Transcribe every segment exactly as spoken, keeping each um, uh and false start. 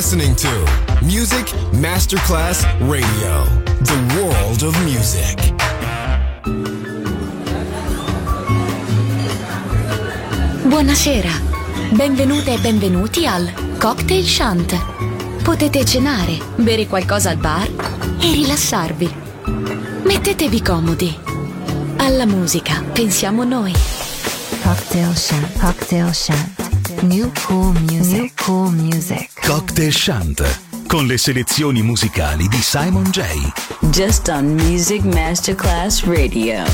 listening to Music Masterclass Radio, the world of music. Buonasera, benvenute e benvenuti al Cocktail Shant. Potete cenare, bere qualcosa al bar e rilassarvi. Mettetevi comodi. Alla musica pensiamo noi. Cocktail Shant, Cocktail Shant. New cool music, New cool music. Cocktail Shant, con le selezioni musicali di Simon J. Just on Music Masterclass Radio.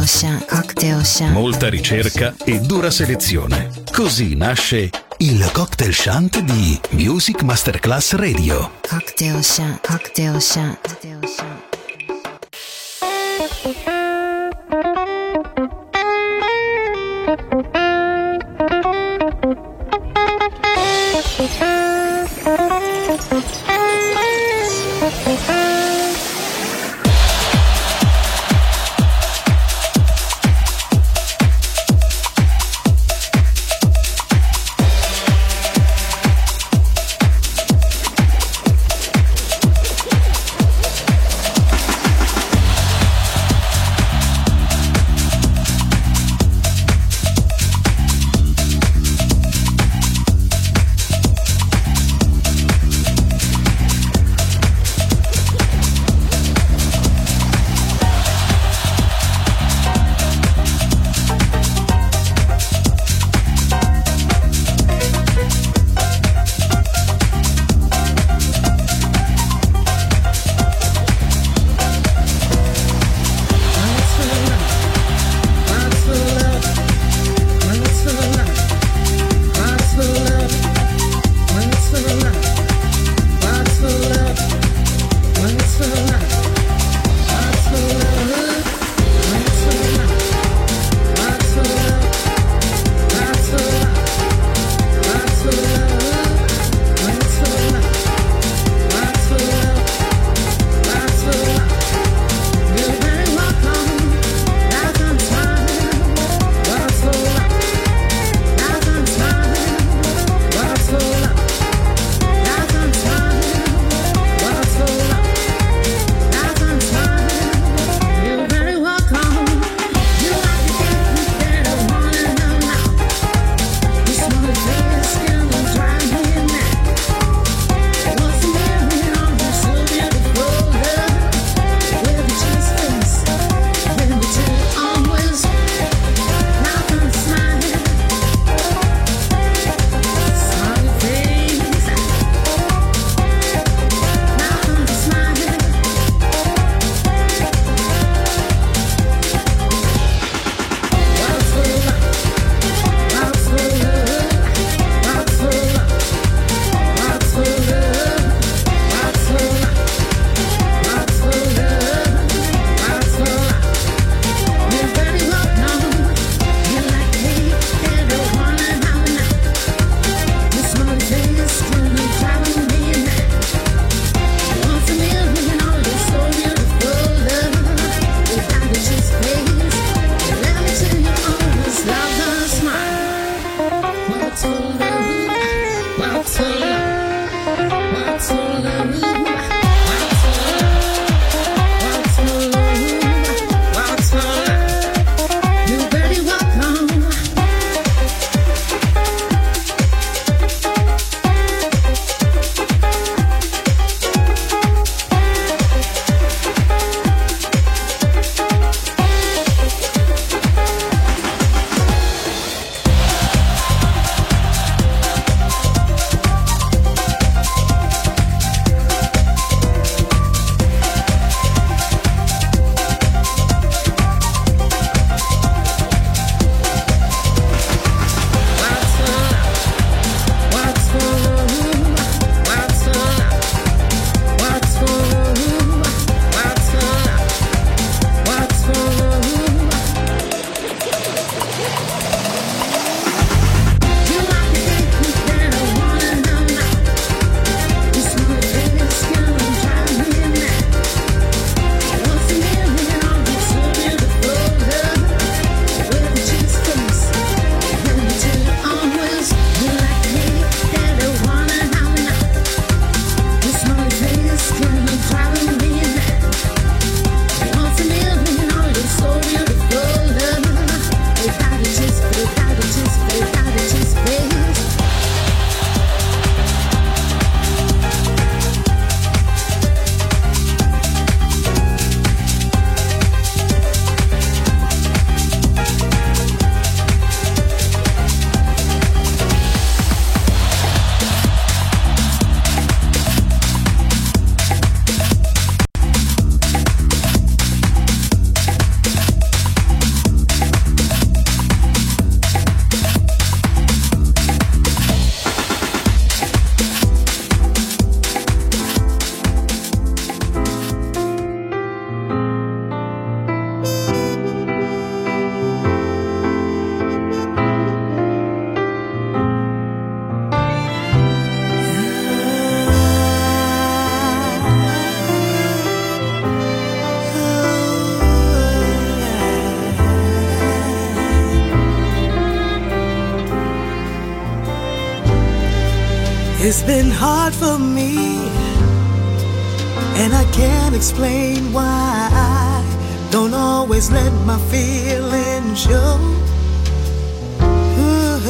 shant, cocktail shant. Molta ricerca e dura selezione. Così nasce il Cocktail Shant di Music Masterclass Radio. Cocktail shant, cocktail shant, cocktail shant. It's been hard for me, and I can't explain why I don't always let my feelings show. Ooh,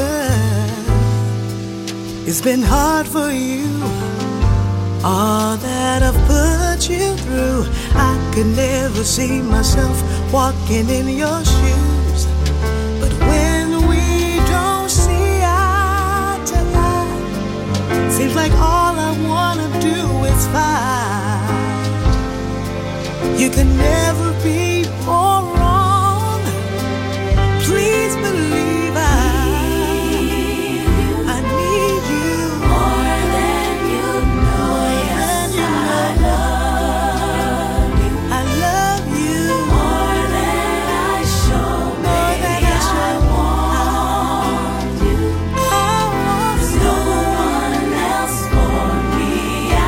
it's been hard for you, all that I've put you through. I could never see myself walking in your shoes, but when we don't see eye to eye, seems like all I wanna do is fight. You can never be more wrong. Please believe I, I need you more than you know. Yes, I love you. I love you more than I show. More than I show. I want you. I want you. No one else for me. I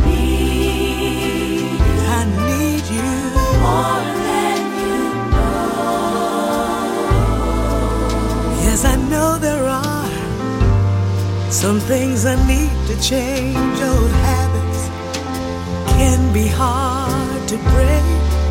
need. I need you more than you know. Yes, I know there are some things I need to change. Old habits can be hard to break.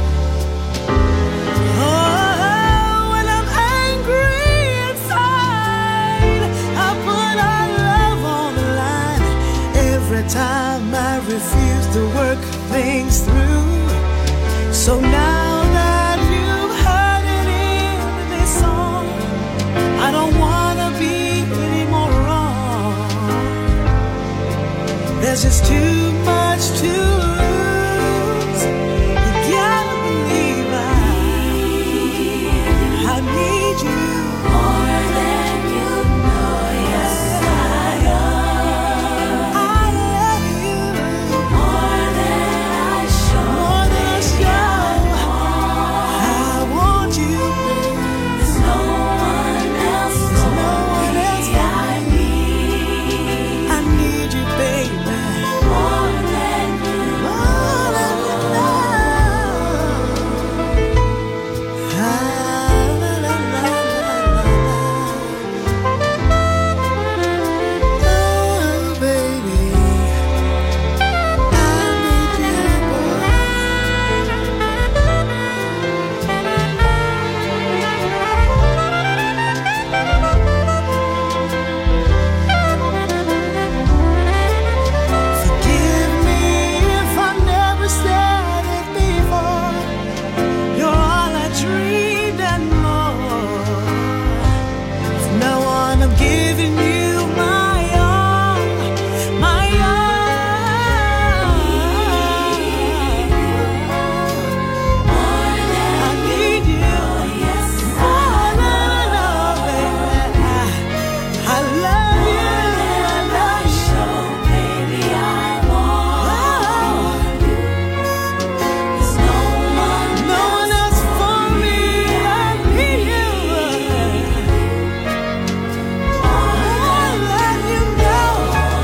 Oh, when I'm angry inside, I put our love on the line. Every time I refuse to work things through. So now that you've heard it in this song, I don't wanna be any more wrong. There's just too much to lose. You gotta believe I, I need you more than you know. Yes, I love. I love you more than I show. More than I show. I want you, baby. There's no one else for me. I need. I need you, baby. More than you more than you know. Ah, la, la, la, la, la. Oh, baby, I need you, boy. Forgive me if I never said it before. You're all I dreamed and more. From now on, I'm giving you my all, my all. I need you. Yes, I know, baby. I love you. I love you, baby. I want you. There's no one, no one else for me. I need you. More than you know.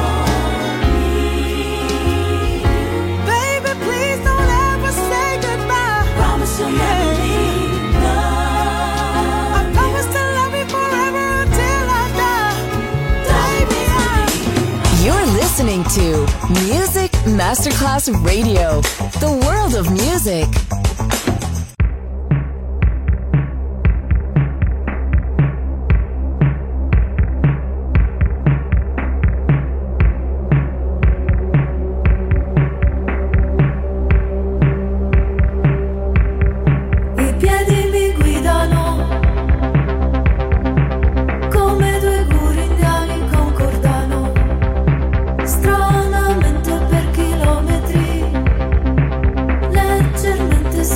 Baby, please don't ever say goodbye. Promise you'll never leave. I promise to love you forever until I die. Baby, I You're listening to Music Masterclass Radio, the world of music. I piedi mi guidano come due guri indiani concordano, stranamente per chilometri, leggermente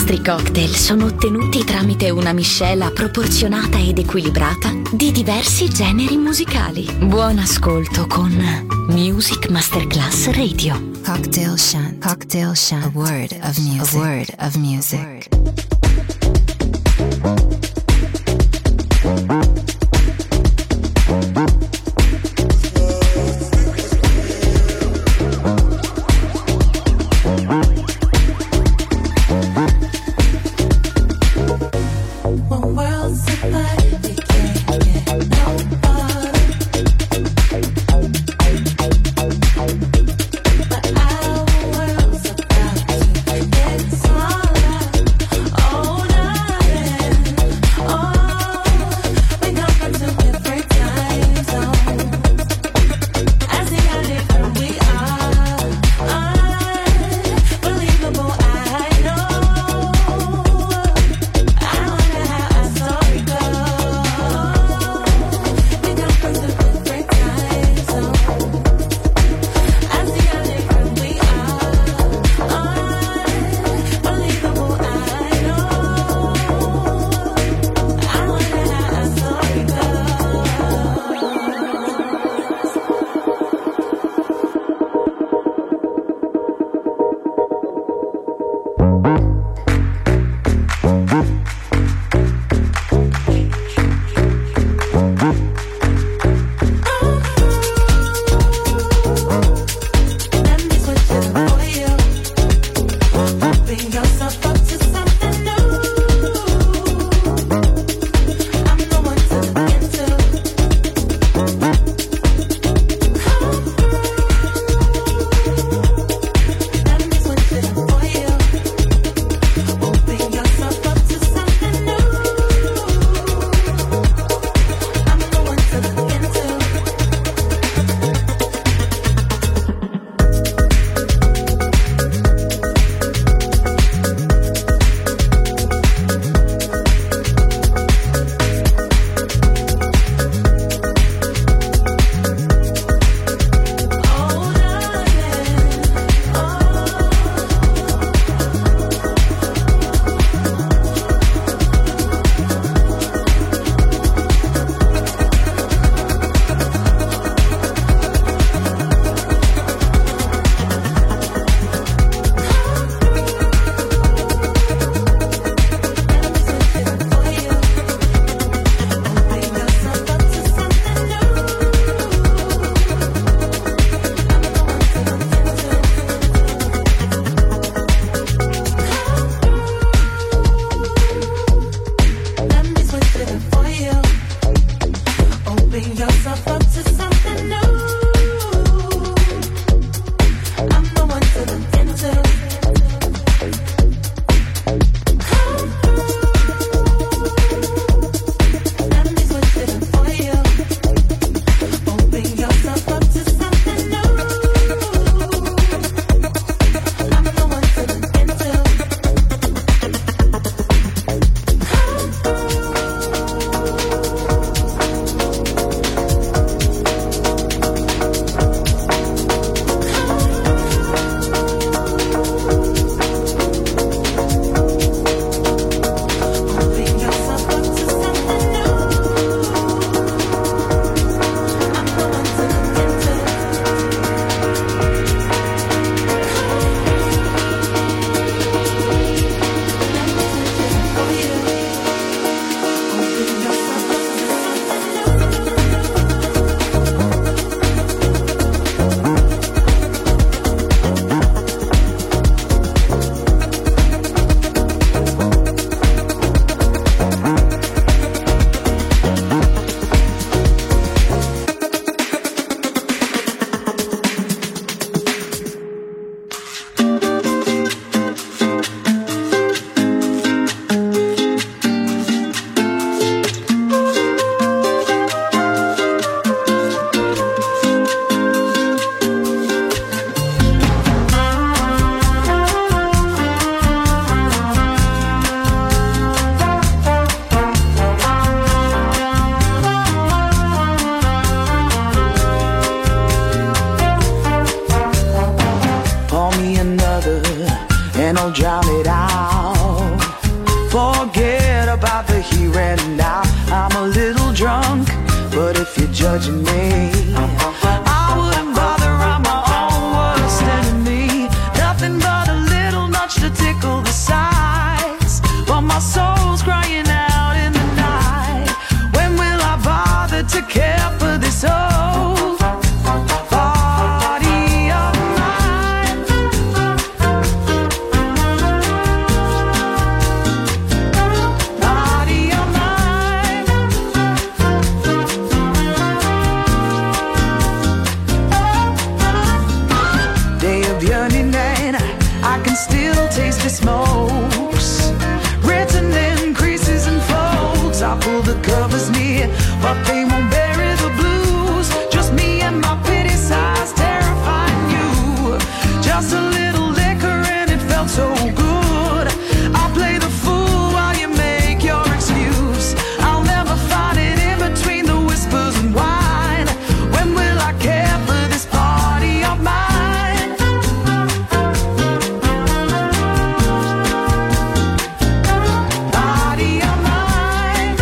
nostri cocktail sono ottenuti tramite una miscela proporzionata ed equilibrata di diversi generi musicali. Buon ascolto con Music Masterclass Radio. Cocktail Shant. Cocktail Shant. A word of music. A word of music. and I'll drown it out. judging me. I wouldn't bother, I'm my own worst enemy. Nothing but a little nudge to tickle the sides. But my soul's crying out in the night. When will I bother to care for this old body of mine? Body of mine. Day of yearning and I can still taste the smokes written in creases and folds. I pull the covers near, but they won't bury the blues. Just me and my pity sighs terrifying you. Just a little liquor and it felt so good. I'll play the fool while you make your excuse. I'll never find it in between the whispers and wine. When will I care for this party of mine? Body of mine.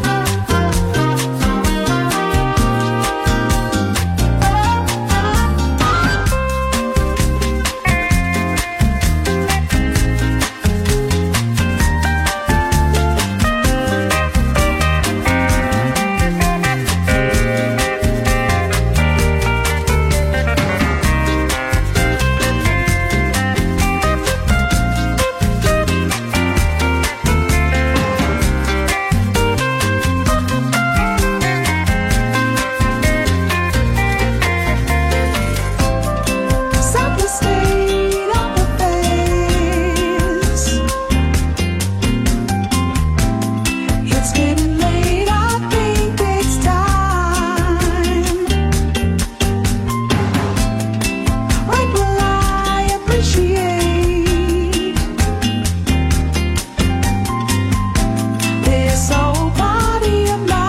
Set the state of affairs. It's getting late, I think it's time. When will I appreciate this old body of mine?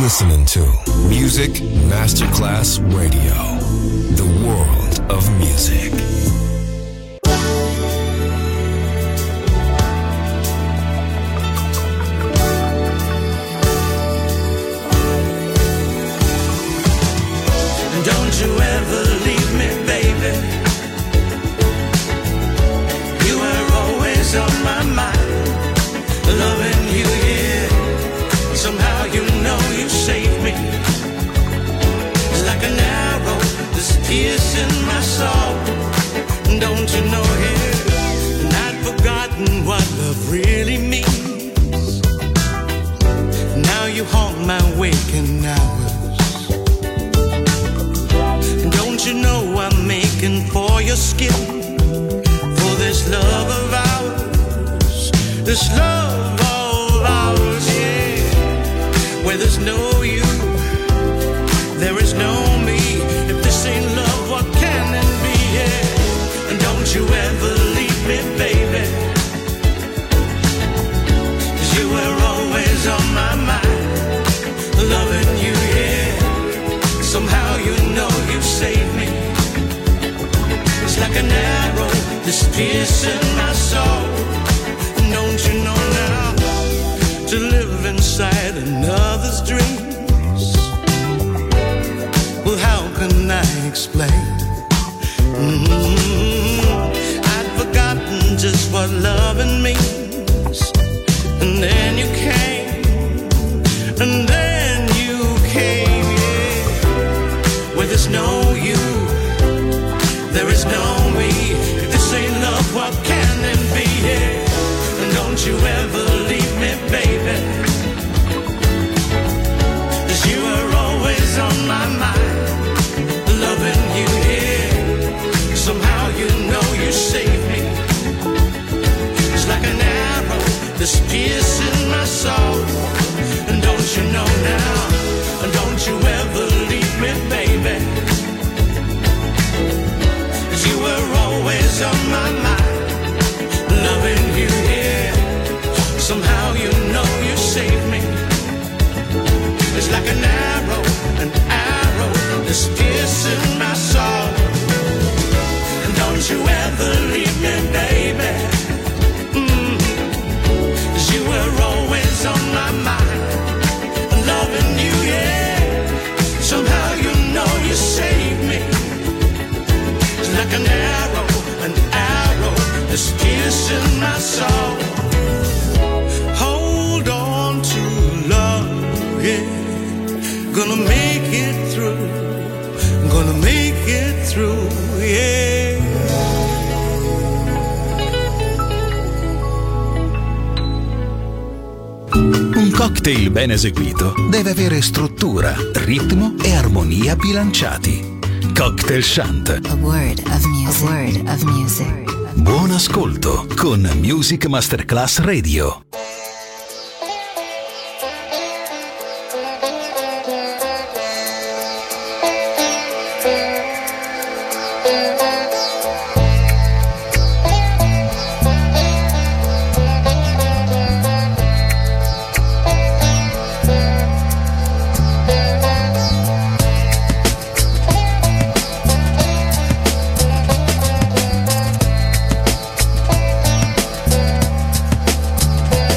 listening to Music Masterclass Radio, the world of music. Don't you ever leave me, baby. You were always on my mind, loving you, yeah. Somehow you know you saved me. It's like an arrow that's piercing my soul. Don't you know, yeah, not forgotten what love really means. Now you haunt my waking hours. Don't you know I'm making for your skin, for this love of ours, this love of ours, yeah. Where there's no you, there is no me. If this ain't love, what can it be, yeah. And don't you ever leave me, baby, 'cause you were always on my mind, loving you, yeah. Somehow you know you saved me. It's like an arrow that's piercing my soul. Don't you know now, to live inside another's dreams, well, how can I explain? Mm-hmm. I'd forgotten just what loving means. And then you came, and then you came, yeah. Where there's no you, there is no me. If this ain't love, what can it be, yeah. And don't you ever leave me, baby, 'cause you were always on my mind, loving you, yeah. Somehow you know you saved me. It's like an arrow that's piercing my soul. And don't you know now, and don't you ever leave me, baby, 'cause you were always on my mind, loving you, yeah. Somehow you know you saved me. It's like an arrow, an arrow that's piercing my soul. And don't you ever leave me, baby, mm. 'cause you were always on my mind, loving you, yeah. Somehow you know you saved me. It's like an arrow, an arrow that's piercing my soul. Hold on to love, yeah. Gonna make it through, gonna make it through, yeah. Un cocktail ben eseguito deve avere struttura, ritmo e armonia bilanciati. Cocktail Shant. A word of music. A word of music. Buon ascolto con Music Masterclass Radio. Thank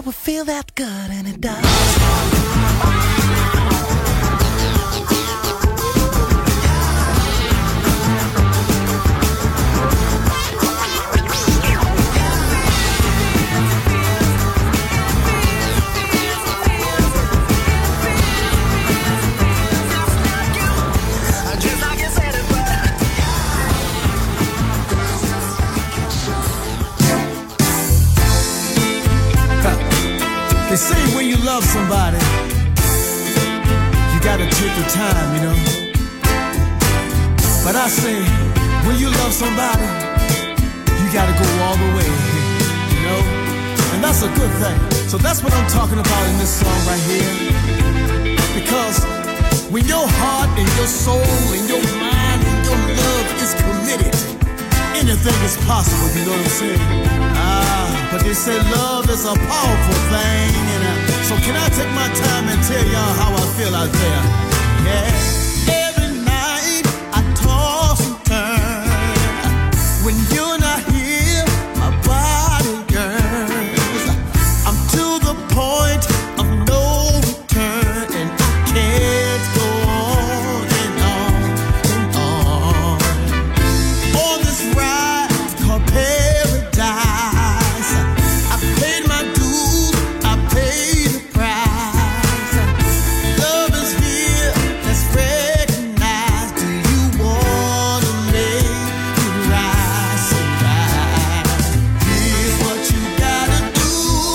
would feel that good, and it does. They say when you love somebody, you gotta take your time, you know. But I say, when you love somebody, you gotta go all the way, you know. And that's a good thing. So that's what I'm talking about in this song right here. Because when your heart and your soul and your mind and your love is committed, anything is possible, you know what I'm saying? Ah, but they say love is a powerful thing, and uh, so can I take my time and tell y'all how I feel out there? Yeah. Every night I toss and turn. When you're not here, my body yearns. I'm to the point of no return, and I can't go on and on and on. On this ride called paradise, I paid my dues, I paid the price. Love is here, let's recognize. Do you wanna make it rise and rise? Here's what you gotta do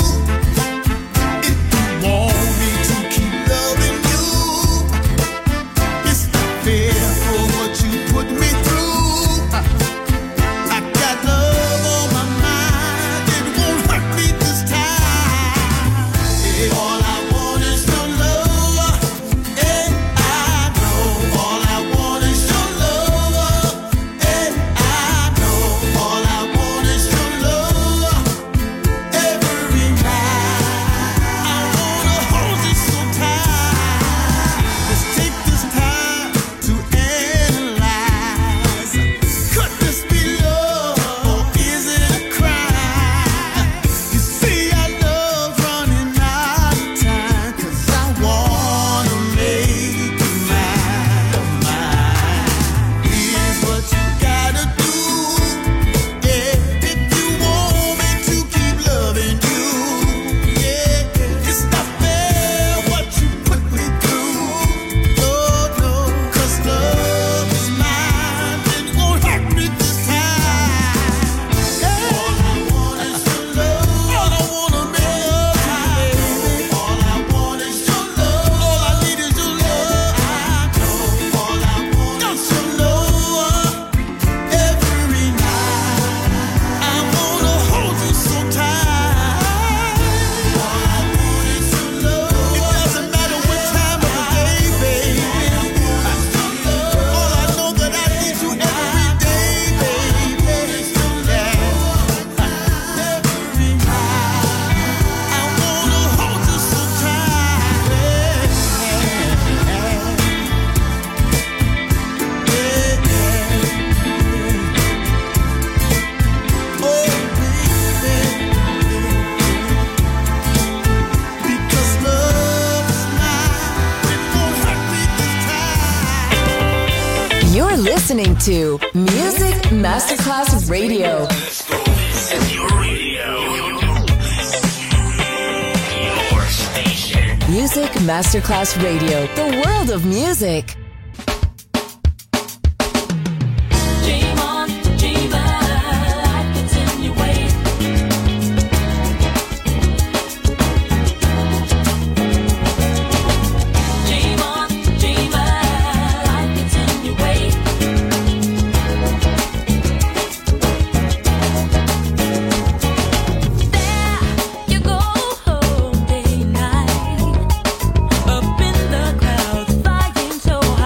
if you want me to keep loving you. It's not fair for what you put me through. I got love on my mind, it won't hurt me this time. Yeah, all I want is your love, and I know. All I want is your love, and I know. All I want is your love every night. I wanna hold you so tight. Let's take this time to analyze. Could this be love, or is it a crime? You see our love's running out of time, 'cause I wanna make you mine, mine. Here's what you gotta do, yeah, if you want me to keep loving you. Yeah, it's not fair what you put me through. No, no, 'cause love is mine, it won't hurt me this time. Yeah. All I want is your love. All I wanna make love to you, baby. All I want is your love. All I need is your love. I know. All I want is your love every night. I wanna hold you so tight. All I want is your love. It doesn't matter what time of the day, baby. All I know that I need you every day, baby. Yeah. Every night. I wanna hold you so tight. Yeah. Oh, baby. Because love is mine, it won't hurt me this time. You're listening to Music Masterclass Radio. This is your radio. Your station. Music Masterclass Radio, the world of music. Dream on, dreamer, life gets in your way. Dream on, dreamer, life gets in your way. There you go, day night, up in the crowd, flying so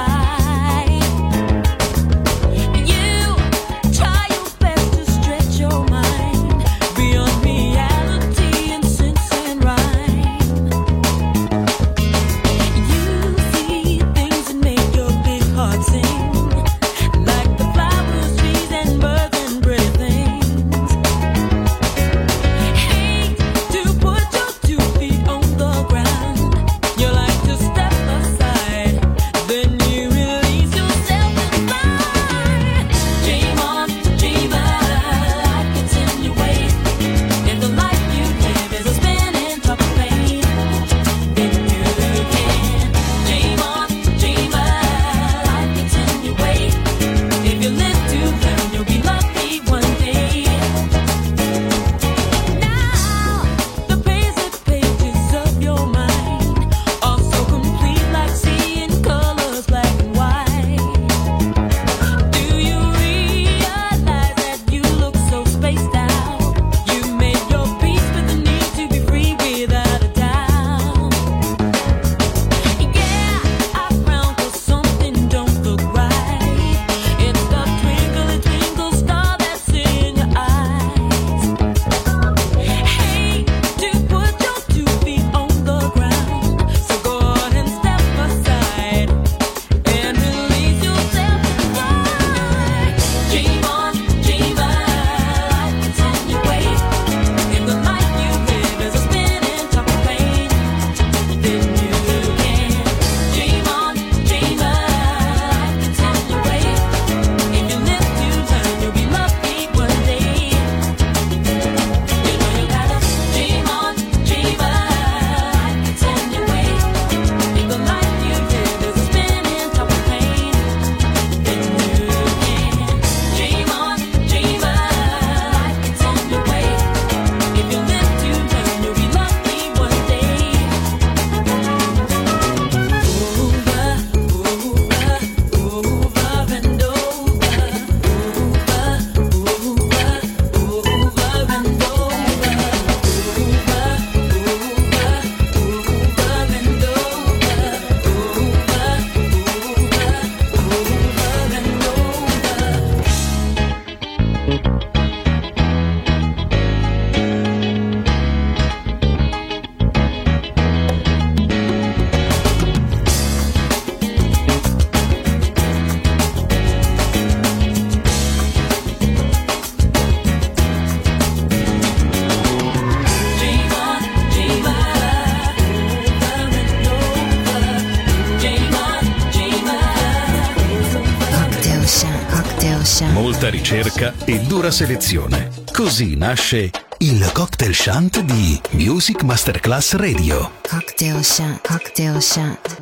Chant. Molta ricerca e dura selezione. Così nasce il Cocktail Chant di Music Masterclass Radio. Cocktail Chant. Cocktail Chant.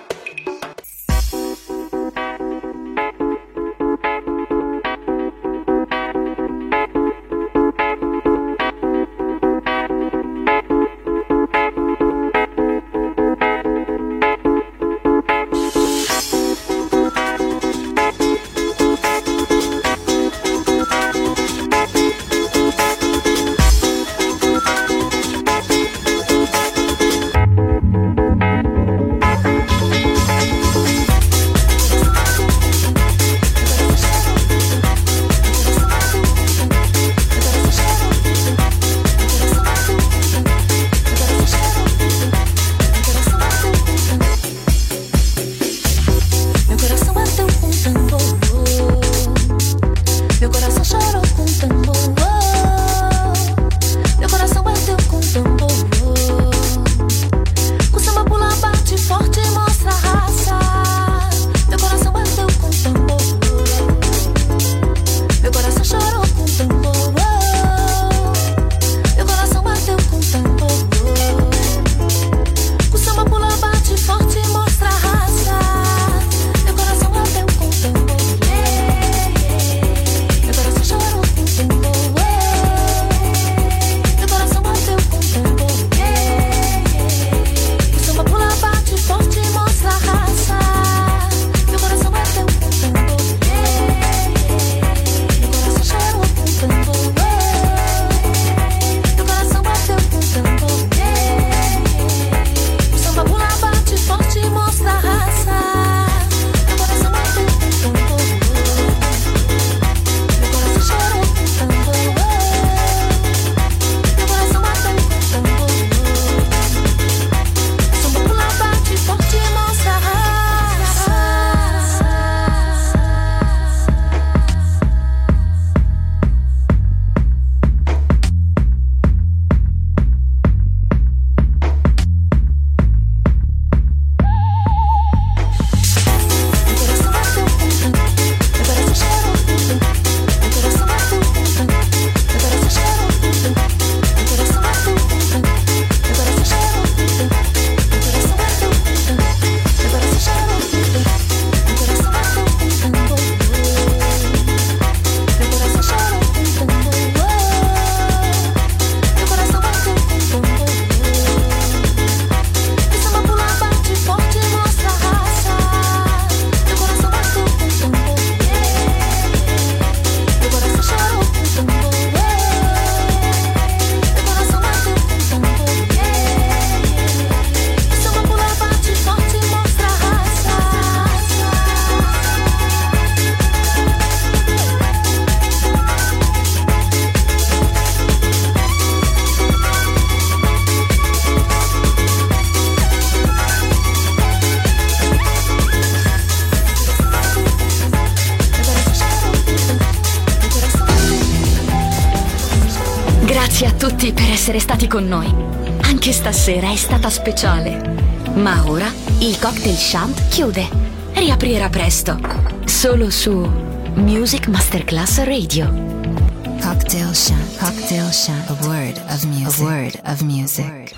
Grazie a tutti per essere stati con noi. Anche stasera è stata speciale. Ma ora il Cocktail Chant chiude. Riaprirà presto. Solo su Music Masterclass Radio. Cocktail Chant. Cocktail Chant. A word of music. A word of music.